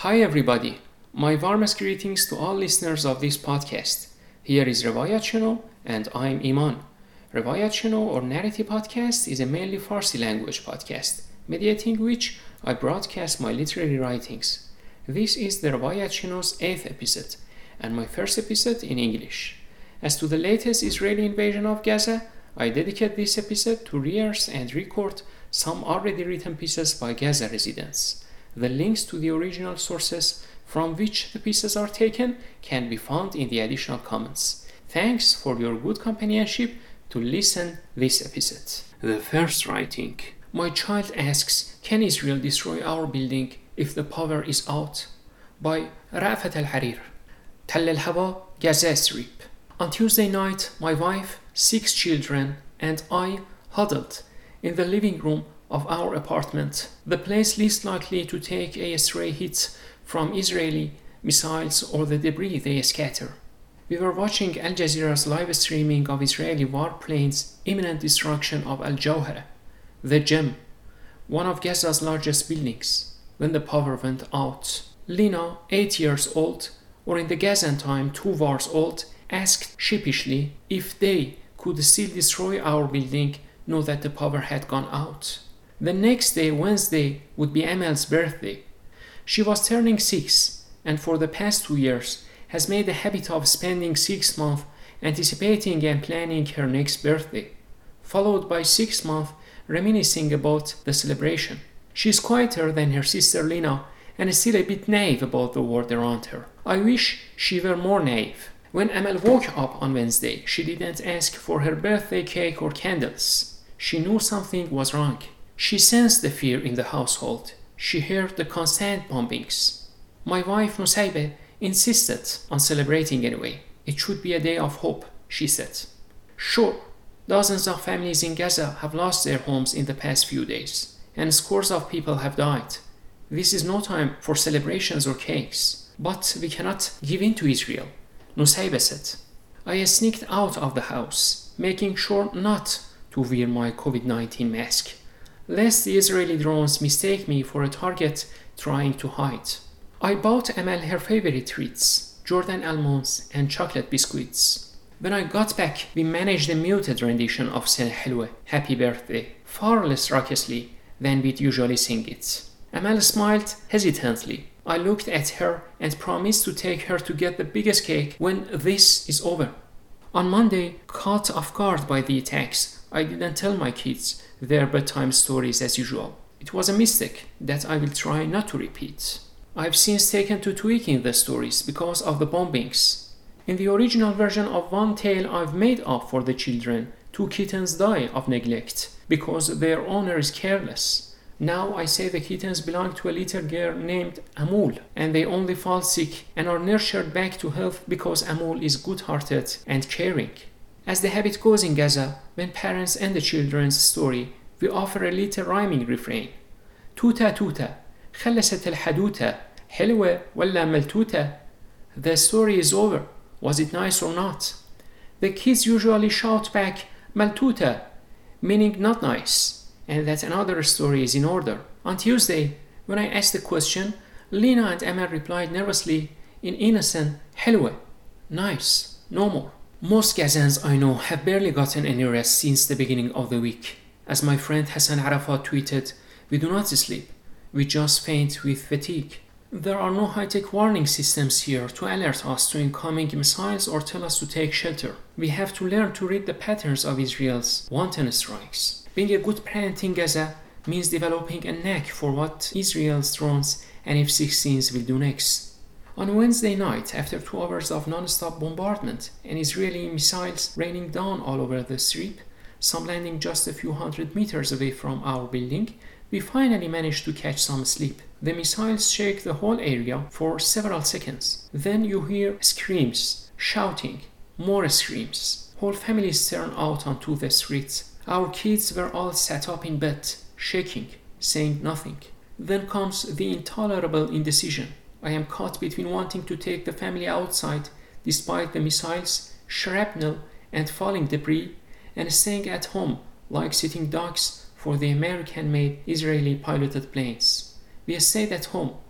Hi everybody, my warmest greetings to all listeners of this podcast. Here is Rewayat Channel and I'm Iman. Rewayat Channel or Narrative Podcast is a mainly Farsi language podcast, mediating which I broadcast my literary writings. This is the Rewayat Channel's 8th episode and my first episode in English. As to the latest Israeli invasion of Gaza, I dedicate this episode to rehearse and record some already written pieces by Gaza residents. The links to the original sources from which the pieces are taken can be found in the additional comments. Thanks for your good companionship to listen this episode. The first writing. My child asks, can Israel destroy our building if the power is out? By Rafat Al-Harir. Tall Al-Hawa, Gaza Strip. On Tuesday night, my wife, 6 children, and I huddled in the living room of our apartment, the place least likely to take a stray hit from Israeli missiles or the debris they scatter. We were watching Al Jazeera's live streaming of Israeli warplanes' imminent destruction of Al Jawhara, the gem, one of Gaza's largest buildings, when the power went out. Lina, 8 years old, or in the Gazan time 2 years old, asked sheepishly if they could still destroy our building now that the power had gone out. The next day, Wednesday, would be Amal's birthday. She was turning 6 and for the past 2 years has made a habit of spending 6 months anticipating and planning her next birthday, followed by 6 months reminiscing about the celebration. She is quieter than her sister Lina and is still a bit naive about the world around her. I wish she were more naive. When Amal woke up on Wednesday, she didn't ask for her birthday cake or candles. She knew something was wrong. She sensed the fear in the household. She heard the constant bombings. My wife Nusaybe insisted on celebrating anyway. It should be a day of hope, she said. Sure, dozens of families in Gaza have lost their homes in the past few days, and scores of people have died. This is no time for celebrations or cakes, but we cannot give in to Israel, Nusaybe said. I sneaked out of the house, making sure not to wear my COVID-19 mask, lest the Israeli drones mistake me for a target trying to hide. I bought Amal her favorite treats, Jordan almonds and chocolate biscuits. When I got back, we managed a muted rendition of Sana Helwa, Happy Birthday, far less raucously than we'd usually sing it. Amal smiled hesitantly. I looked at her and promised to take her to get the biggest cake when this is over. On Monday, caught off guard by the attacks, I didn't tell my kids their bedtime stories as usual. It was a mistake that I will try not to repeat. I've since taken to tweaking the stories because of the bombings. In the original version of one tale I've made up for the children, 2 kittens die of neglect because their owner is careless. Now I say the kittens belong to a little girl named Amul, and they only fall sick and are nurtured back to health because Amul is good-hearted and caring. As the habit goes in Gaza, when parents end the children's story, we offer a little rhyming refrain. Tuta tuta, خلصت الحدوتة, حلوة ولا ملتوتة? The story is over. Was it nice or not? The kids usually shout back, maltuta, meaning not nice, and that another story is in order. On Tuesday, when I asked the question, Lina and Emma replied nervously in innocent, حلوة, nice, no more. Most Gazans I know have barely gotten any rest since the beginning of the week. As my friend Hassan Arafat tweeted, we do not sleep, we just faint with fatigue. There are no high-tech warning systems here to alert us to incoming missiles or tell us to take shelter. We have to learn to read the patterns of Israel's wanton strikes. Being a good parent in Gaza means developing a knack for what Israel's drones and F-16s will do next. On Wednesday night, after 2 hours of non-stop bombardment and Israeli missiles raining down all over the strip, some landing just a few hundred meters away from our building, we finally managed to catch some sleep. The missiles shake the whole area for several seconds. Then you hear screams, shouting, more screams. Whole families turn out onto the streets. Our kids were all sat up in bed, shaking, saying nothing. Then comes the intolerable indecision. I am caught between wanting to take the family outside despite the missiles, shrapnel, and falling debris, and staying at home like sitting ducks for the American-made Israeli piloted planes. We stayed at home,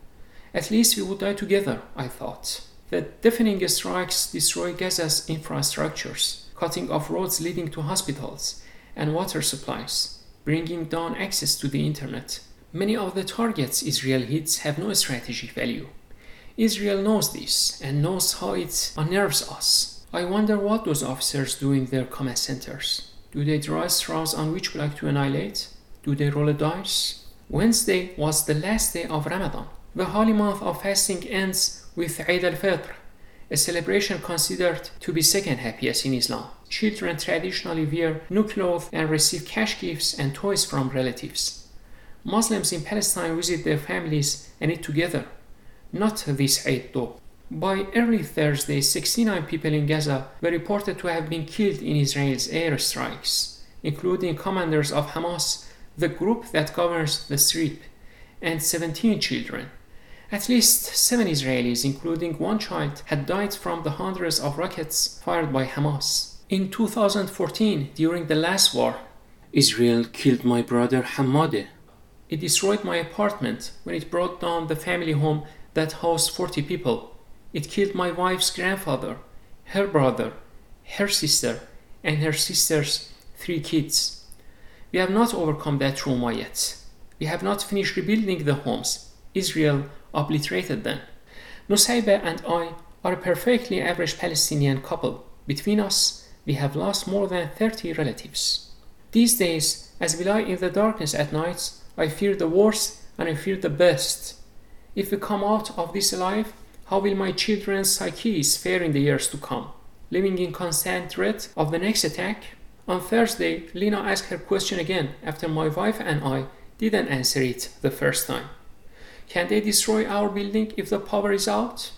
At least we would die together, I thought. The deafening strikes destroy Gaza's infrastructures, cutting off roads leading to hospitals and water supplies, bringing down access to the internet. Many of the targets Israel hits have no strategic value. Israel knows this and knows how it unnerves us. I wonder what those officers do in their command centers. Do they draw straws on which block to annihilate? Do they roll a dice? Wednesday was the last day of Ramadan. The holy month of fasting ends with Eid al-Fitr, a celebration considered to be second happiest in Islam. Children traditionally wear new clothes and receive cash gifts and toys from relatives. Muslims in Palestine visit their families and eat together. Not this Eid though. By early Thursday, 69 people in Gaza were reported to have been killed in Israel's airstrikes, including commanders of Hamas, the group that governs the Strip, and 17 children. At least 7 Israelis, including 1 child, had died from the hundreds of rockets fired by Hamas. In 2014, during the last war, Israel killed my brother Hamadeh. It destroyed my apartment when it brought down the family home that housed 40 people. It killed my wife's grandfather, her brother, her sister, and her sister's 3 kids. We have not overcome that trauma yet. We have not finished rebuilding the homes. Israel obliterated them. Nusayba and I are a perfectly average Palestinian couple. Between us, we have lost more than 30 relatives. These days, as we lie in the darkness at night, I fear the worst and I fear the best. If we come out of this alive, how will my children's psyches fare in the years to come? Living in constant dread of the next attack? On Thursday, Lena asked her question again after my wife and I didn't answer it the first time. Can they destroy our building if the power is out?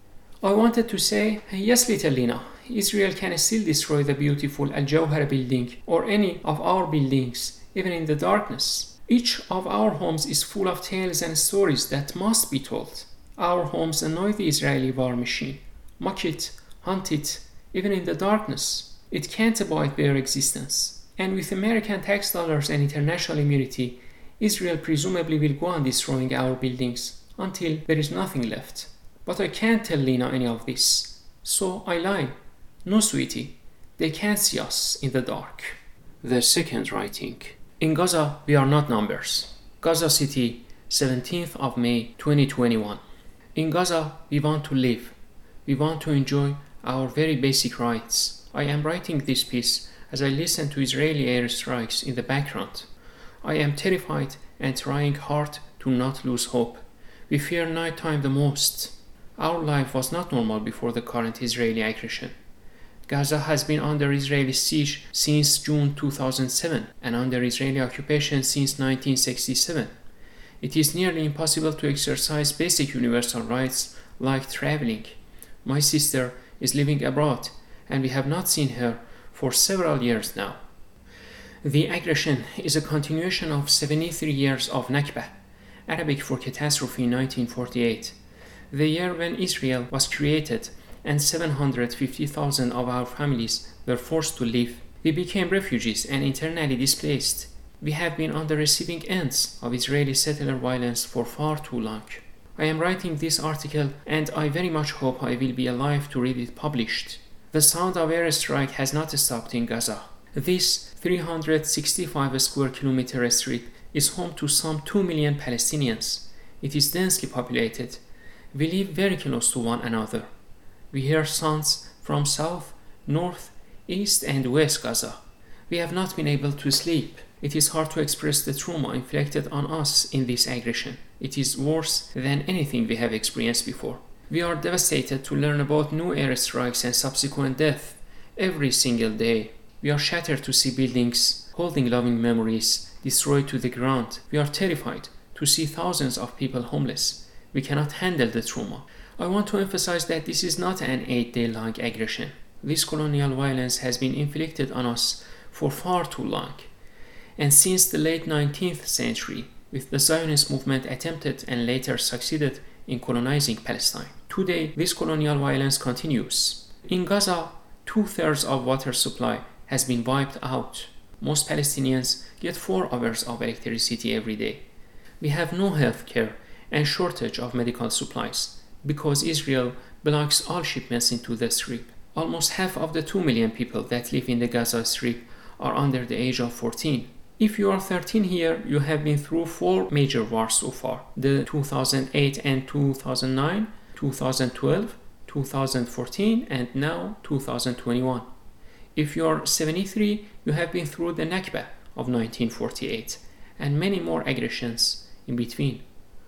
I wanted to say, yes, little Lena, Israel can still destroy the beautiful Al-Jawhara building or any of our buildings, even in the darkness. Each of our homes is full of tales and stories that must be told. Our homes annoy the Israeli war machine, mock it, hunt it, even in the darkness. It can't abide their existence. And with American tax dollars and international immunity, Israel presumably will go on destroying our buildings until there is nothing left. But I can't tell Lena any of this. So I lie. No, sweetie, they can't see us in the dark. The second writing. In Gaza, we are not numbers. Gaza City, 17th of May 2021. In Gaza, we want to live. We want to enjoy our very basic rights. I am writing this piece as I listen to Israeli airstrikes in the background. I am terrified and trying hard to not lose hope. We fear nighttime the most. Our life was not normal before the current Israeli aggression. Gaza has been under Israeli siege since June 2007 and under Israeli occupation since 1967. It is nearly impossible to exercise basic universal rights like traveling. My sister is living abroad and we have not seen her for several years now. The aggression is a continuation of 73 years of Nakba, Arabic for catastrophe in 1948, the year when Israel was created and 750,000 of our families were forced to leave. We became refugees and internally displaced. We have been on the receiving ends of Israeli settler violence for far too long. I am writing this article and I very much hope I will be alive to read it published. The sound of airstrike has not stopped in Gaza. This 365 square kilometer strip is home to some 2 million Palestinians. It is densely populated. We live very close to one another. We hear sounds from south, north, east and west Gaza. We have not been able to sleep. It is hard to express the trauma inflicted on us in this aggression. It is worse than anything we have experienced before. We are devastated to learn about new airstrikes and subsequent death every single day. We are shattered to see buildings holding loving memories destroyed to the ground. We are terrified to see thousands of people homeless. We cannot handle the trauma. I want to emphasize that this is not an 8-day-long aggression. This colonial violence has been inflicted on us for far too long. And since the late 19th century, with the Zionist movement attempted and later succeeded in colonizing Palestine. Today, this colonial violence continues. In Gaza, 2/3 of water supply has been wiped out. Most Palestinians get 4 hours of electricity every day. We have no health care and shortage of medical supplies because Israel blocks all shipments into the Strip. Almost half of the 2 million people that live in the Gaza Strip are under the age of 14. If you are 13 here, you have been through 4 major wars so far: the 2008 and 2009, 2012, 2014, and now 2021. If you are 73, you have been through the Nakba of 1948 and many more aggressions in between.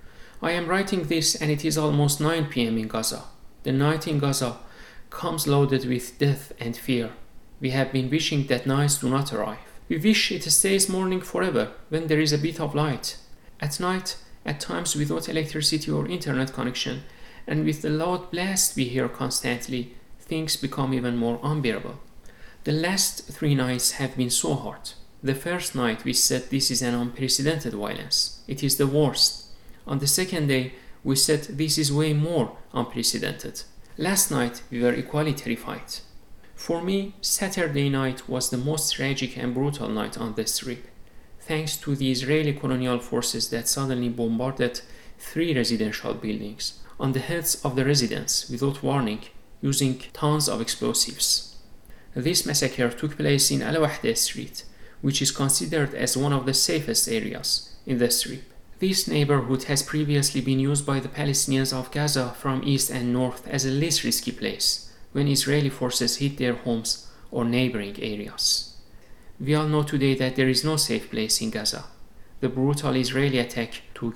I am writing this and it is almost 9 p.m. in Gaza. The night in Gaza comes loaded with death and fear. We have been wishing that nights do not arrive. We wish it stays morning forever when there is a bit of light. At night, at times without electricity or internet connection, and with the loud blast we hear constantly, things become even more unbearable. The last 3 nights have been so hard. The first night we said this is an unprecedented violence. It is the worst. On the second day, we said this is way more unprecedented. Last night we were equally terrified. For me, Saturday night was the most tragic and brutal night on the Strip, thanks to the Israeli colonial forces that suddenly bombarded 3 residential buildings on the heads of the residents without warning, using tons of explosives. This massacre took place in Al Wahda Street, which is considered as one of the safest areas in the Strip. This neighborhood has previously been used by the Palestinians of Gaza from east and north as a least risky place when Israeli forces hit their homes or neighboring areas. We all know today that there is no safe place in Gaza. The brutal Israeli attack took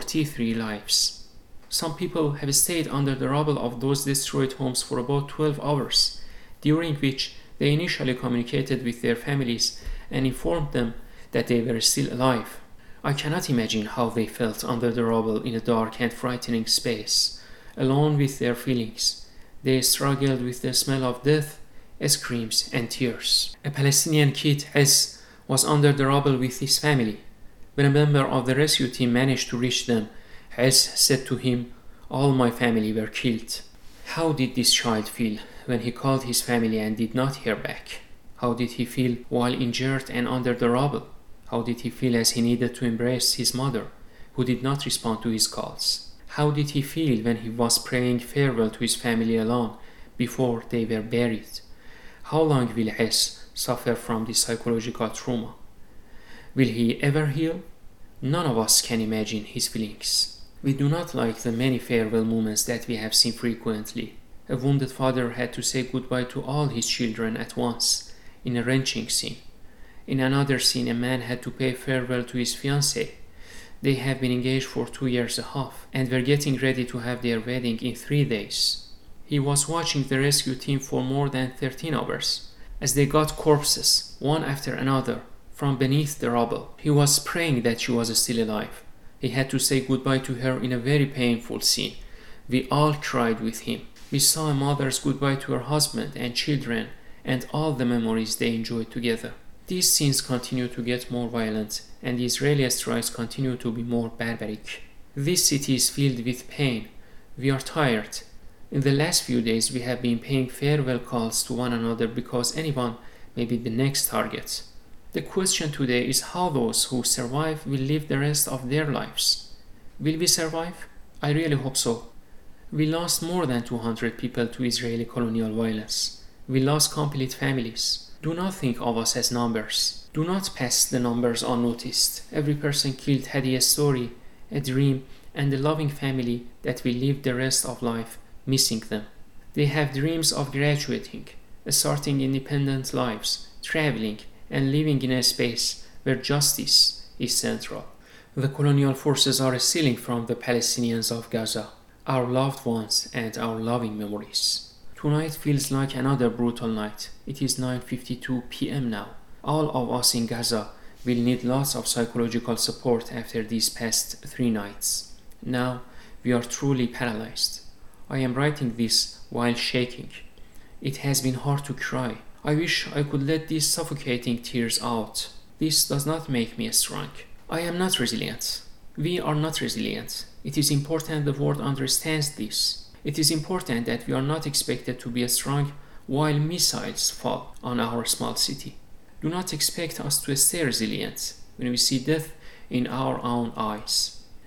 43 lives. Some people have stayed under the rubble of those destroyed homes for about 12 hours, during which they initially communicated with their families and informed them that they were still alive. I cannot imagine how they felt under the rubble in a dark and frightening space, alone with their feelings. They struggled with the smell of death, screams, and tears. A Palestinian kid, Hez, was under the rubble with his family. When a member of the rescue team managed to reach them, Hez said to him, "All my family were killed." How did this child feel when he called his family and did not hear back? How did he feel while injured and under the rubble? How did he feel as he needed to embrace his mother, who did not respond to his calls? How did he feel when he was praying farewell to his family alone before they were buried? How long will Hes suffer from this psychological trauma? Will he ever heal? None of us can imagine his feelings. We do not like the many farewell moments that we have seen frequently. A wounded father had to say goodbye to all his children at once in a wrenching scene. In another scene, a man had to pay farewell to his fiancée. They have been engaged for 2 years and a half and were getting ready to have their wedding in 3 days. He was watching the rescue team for more than 13 hours as they got corpses, one after another, from beneath the rubble. He was praying that she was still alive. He had to say goodbye to her in a very painful scene. We all cried with him. We saw a mother's goodbye to her husband and children and all the memories they enjoyed together. These scenes continue to get more violent and the Israeli strikes continue to be more barbaric. This city is filled with pain. We are tired. In the last few days we have been paying farewell calls to one another because anyone may be the next target. The question today is how those who survive will live the rest of their lives. Will we survive? I really hope so. We lost more than 200 people to Israeli colonial violence. We lost complete families. Do not think of us as numbers. Do not pass the numbers unnoticed. Every person killed had a story, a dream, and a loving family that will live the rest of life missing them. They have dreams of graduating, starting independent lives, traveling, and living in a space where justice is central. The colonial forces are stealing from the Palestinians of Gaza, our loved ones and our loving memories. Tonight feels like another brutal night. It is 9:52 p.m. now. All of us in Gaza will need lots of psychological support after these past 3 nights. Now we are truly paralyzed. I am writing this while shaking. It has been hard to cry. I wish I could let these suffocating tears out. This does not make me strong. I am not resilient. We are not resilient. It is important the world understands this. It is important that we are not expected to be strong while missiles fall on our small city. Do not expect us to stay resilient when we see death in our own eyes.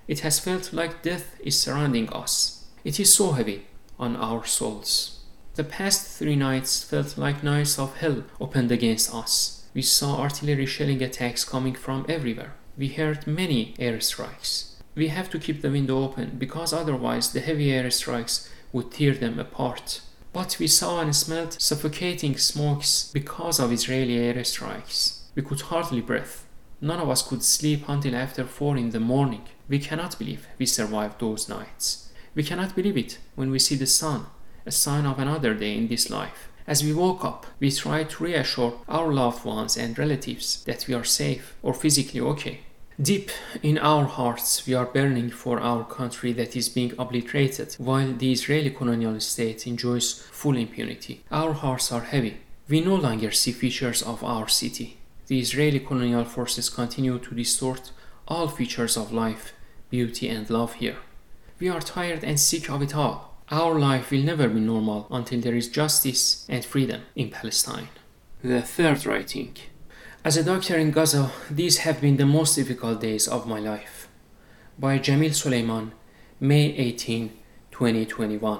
It has felt like death is surrounding us. It is so heavy on our souls. The past 3 nights felt like nights of hell opened against us. We saw artillery shelling attacks coming from everywhere. We heard many airstrikes. We have to keep the window open because otherwise the heavy airstrikes would tear them apart. But we saw and smelled suffocating smokes because of Israeli airstrikes. We could hardly breathe. None of us could sleep until after 4 in the morning. We cannot believe we survived those nights. We cannot believe it when we see the sun, a sign of another day in this life. As we woke up, we tried to reassure our loved ones and relatives that we are safe or physically okay. Deep in our hearts, we are burning for our country that is being obliterated while the Israeli colonial state enjoys full impunity. Our hearts are heavy. We no longer see features of our city. The Israeli colonial forces continue to distort all features of life, beauty, and love here. We are tired and sick of it all. Our life will never be normal until there is justice and freedom in Palestine. The third writing. As a doctor in Gaza, these have been the most difficult days of my life. By Jamil Suleiman, May 18, 2021.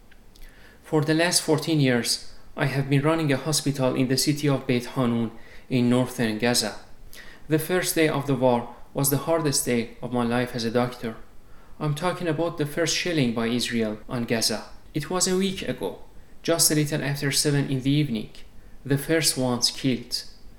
For the last 14 years, I have been running a hospital in the city of Beit Hanun in northern Gaza. The first day of the war was the hardest day of my life as a doctor. I'm talking about the first shelling by Israel on Gaza. It was a week ago, just a little after 7 in the evening. The first ones killed.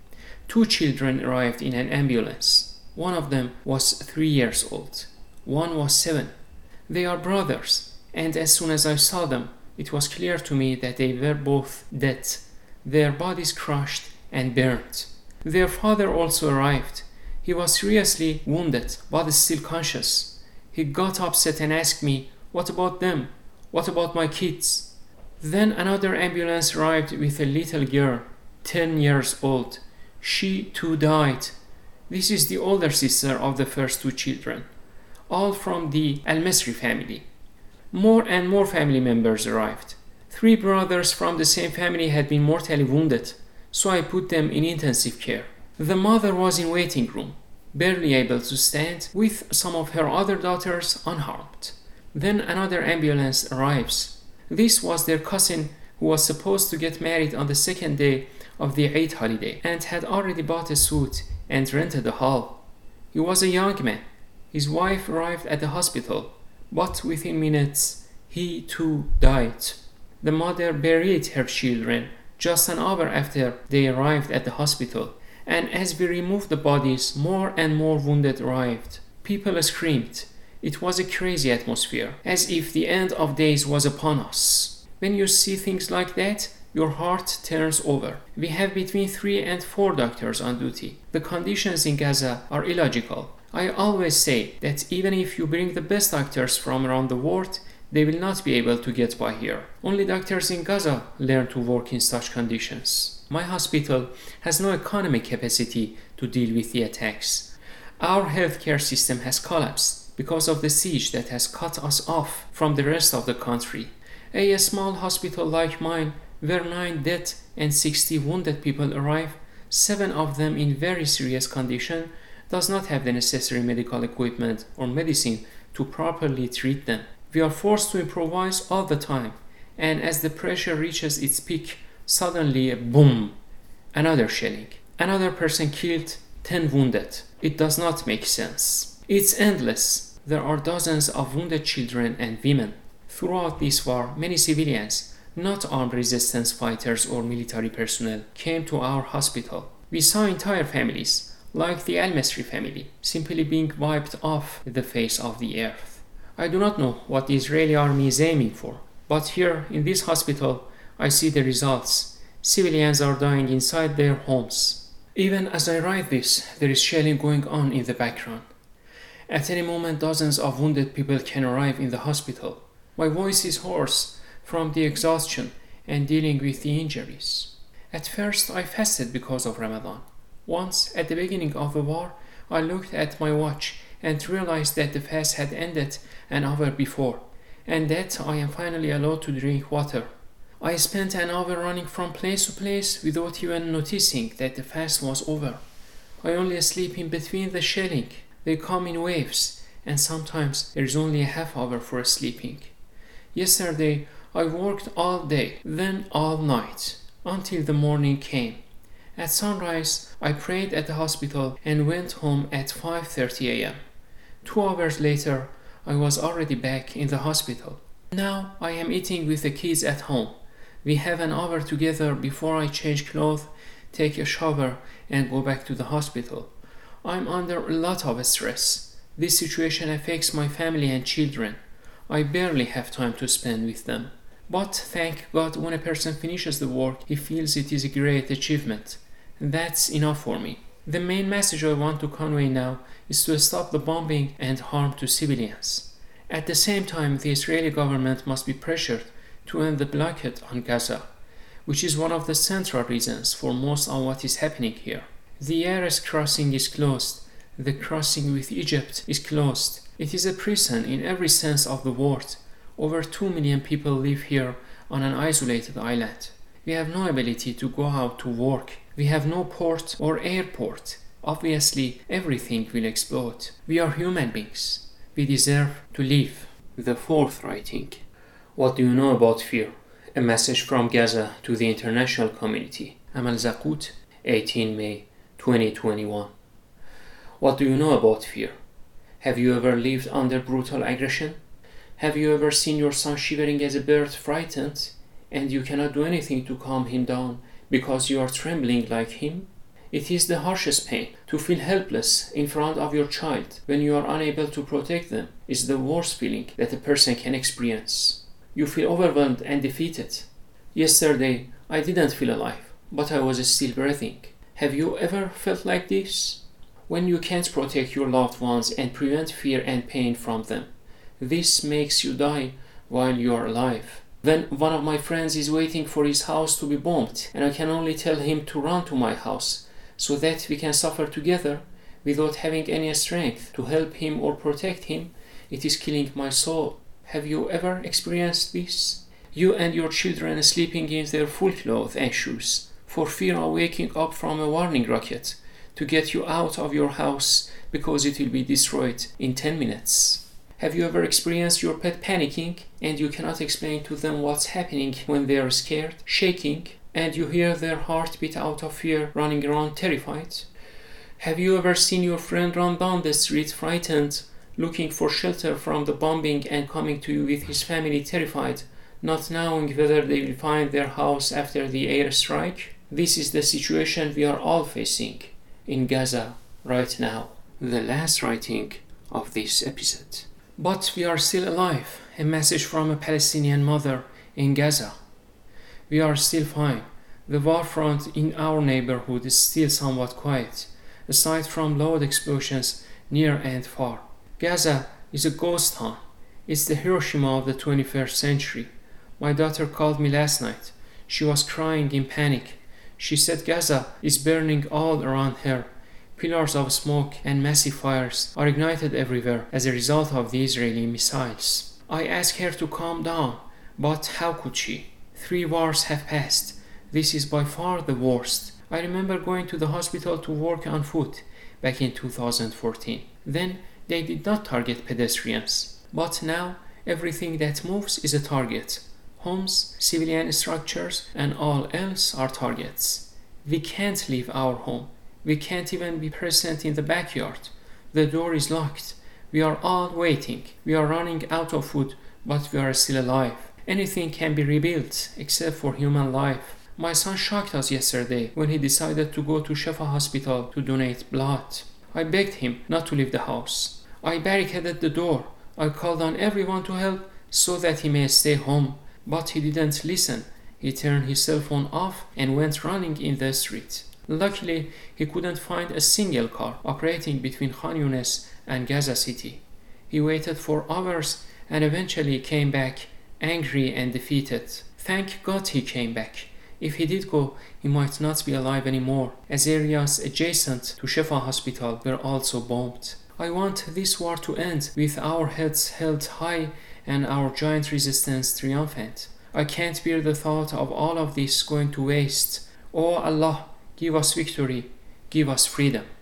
2 children arrived in an ambulance. One of them was 3 years old. One was 7. They are brothers, and as soon as I saw them, it was clear to me that they were both dead, their bodies crushed and burned. Their father also arrived. He was seriously wounded, but still conscious. He got upset and asked me, "What about them? What about my kids?" Then another ambulance arrived with a little girl, 10 years old. She too died. This is the older sister of the first 2 children, all from the Al-Masri family. More and more family members arrived. 3 brothers from the same family had been mortally wounded, so I put them in intensive care. The mother was in waiting room, barely able to stand, with some of her other daughters unharmed. Then another ambulance arrives. This was their cousin who was supposed to get married on the 2nd day of the Eid holiday and had already bought a suit and rented a hall. He was a young man. His wife arrived at the hospital, but within minutes he too died. The mother buried her children just an hour after they arrived at the hospital. And as we removed the bodies, more and more wounded arrived. People screamed. It was a crazy atmosphere, as if the end of days was upon us. When you see things like that, your heart turns over. We have between 3 and 4 doctors on duty. The conditions in Gaza are illogical. I always say that even if you bring the best doctors from around the world, they will not be able to get by here. Only doctors in Gaza learn to work in such conditions. My hospital has no economic capacity to deal with the attacks. Our healthcare system has collapsed because of the siege that has cut us off from the rest of the country. A small hospital like mine, where 9 dead and 60 wounded people arrive, 7 of them in very serious condition, does not have the necessary medical equipment or medicine to properly treat them. We are forced to improvise all the time, and as the pressure reaches its peak, suddenly, boom, another shelling. Another person killed, 10 wounded. It does not make sense. It's endless. There are dozens of wounded children and women. Throughout this war, many civilians, not armed resistance fighters or military personnel, came to our hospital. We saw entire families, like the Al-Masri family, simply being wiped off the face of the earth. I do not know what the Israeli army is aiming for, but here in this hospital, I see the results. Civilians are dying inside their homes. Even as I write this, there is shelling going on in the background. At any moment, dozens of wounded people can arrive in the hospital. My voice is hoarse from the exhaustion and dealing with the injuries. At first, I fasted because of Ramadan. Once, at the beginning of the war, I looked at my watch and realized that the fast had ended an hour before, and that I am finally allowed to drink water. I spent an hour running from place to place without even noticing that the fast was over. I only sleep in between the shelling. They come in waves, and sometimes there is only a half hour for sleeping. Yesterday, I worked all day, then all night, until the morning came. At sunrise, I prayed at the hospital and went home at 5:30 a.m. 2 hours later, I was already back in the hospital. Now I am eating with the kids at home. We have an hour together before I change clothes, take a shower, and go back to the hospital. I'm under a lot of stress. This situation affects my family and children. I barely have time to spend with them. But thank God, when a person finishes the work, he feels it is a great achievement. That's enough for me. The main message I want to convey now is to stop the bombing and harm to civilians. At the same time, the Israeli government must be pressured to end the blockade on Gaza, which is one of the central reasons for most of what is happening here. The Erez crossing is closed. The crossing with Egypt is closed. It is a prison in every sense of the word. Over 2 million people live here on an isolated island. We have no ability to go out to work. We have no port or airport. Obviously, everything will explode. We are human beings. We deserve to live. The fourth writing. What do you know about fear? A message from Gaza to the international community. Amal Zakut, 18 May 2021. What do you know about fear? Have you ever lived under brutal aggression? Have you ever seen your son shivering as a bird, frightened, and you cannot do anything to calm him down because you are trembling like him? It is the harshest pain. To feel helpless in front of your child when you are unable to protect them is the worst feeling that a person can experience. You feel overwhelmed and defeated. Yesterday, I didn't feel alive, but I was still breathing. Have you ever felt like this? When you can't protect your loved ones and prevent fear and pain from them, this makes you die while you are alive. When one of my friends is waiting for his house to be bombed and I can only tell him to run to my house so that we can suffer together without having any strength to help him or protect him, it is killing my soul. Have you ever experienced this? You and your children sleeping in their full clothes and shoes for fear of waking up from a warning rocket to get you out of your house because it will be destroyed in 10 minutes. Have you ever experienced your pet panicking and you cannot explain to them what's happening when they are scared, shaking, and you hear their heartbeat out of fear running around terrified? Have you ever seen your friend run down the street frightened, looking for shelter from the bombing and coming to you with his family terrified, not knowing whether they will find their house after the airstrike? This is the situation we are all facing in Gaza right now. The last writing of this episode. But we are still alive. A message from a Palestinian mother in Gaza. We are still fine. The war front in our neighborhood is still somewhat quiet, aside from loud explosions near and far. Gaza is a ghost town. It's the Hiroshima of the 21st century. My daughter called me last night. She was crying in panic. She said Gaza is burning all around her. Pillars of smoke and massive fires are ignited everywhere as a result of the Israeli missiles. I asked her to calm down, but how could she? 3 wars have passed. This is by far the worst. I remember going to the hospital to work on foot back in 2014. Then they did not target pedestrians. But now everything that moves is a target. Homes, civilian structures, and all else are targets. We can't leave our home. We can't even be present in the backyard. The door is locked. We are all waiting. We are running out of food, but we are still alive. Anything can be rebuilt except for human life. My son shocked us yesterday when he decided to go to Shefa Hospital to donate blood. I begged him not to leave the house. I barricaded the door. I called on everyone to help so that he may stay home, but he didn't listen. He turned his cell phone off and went running in the street. Luckily, he couldn't find a single car operating between Khan Yunis and Gaza City. He waited for hours and eventually came back angry and defeated. Thank God he came back. If he did go, he might not be alive anymore, as areas adjacent to Shefa Hospital were also bombed. I want this war to end with our heads held high and our giant resistance triumphant. I can't bear the thought of all of this going to waste. Oh Allah, give us victory, give us freedom.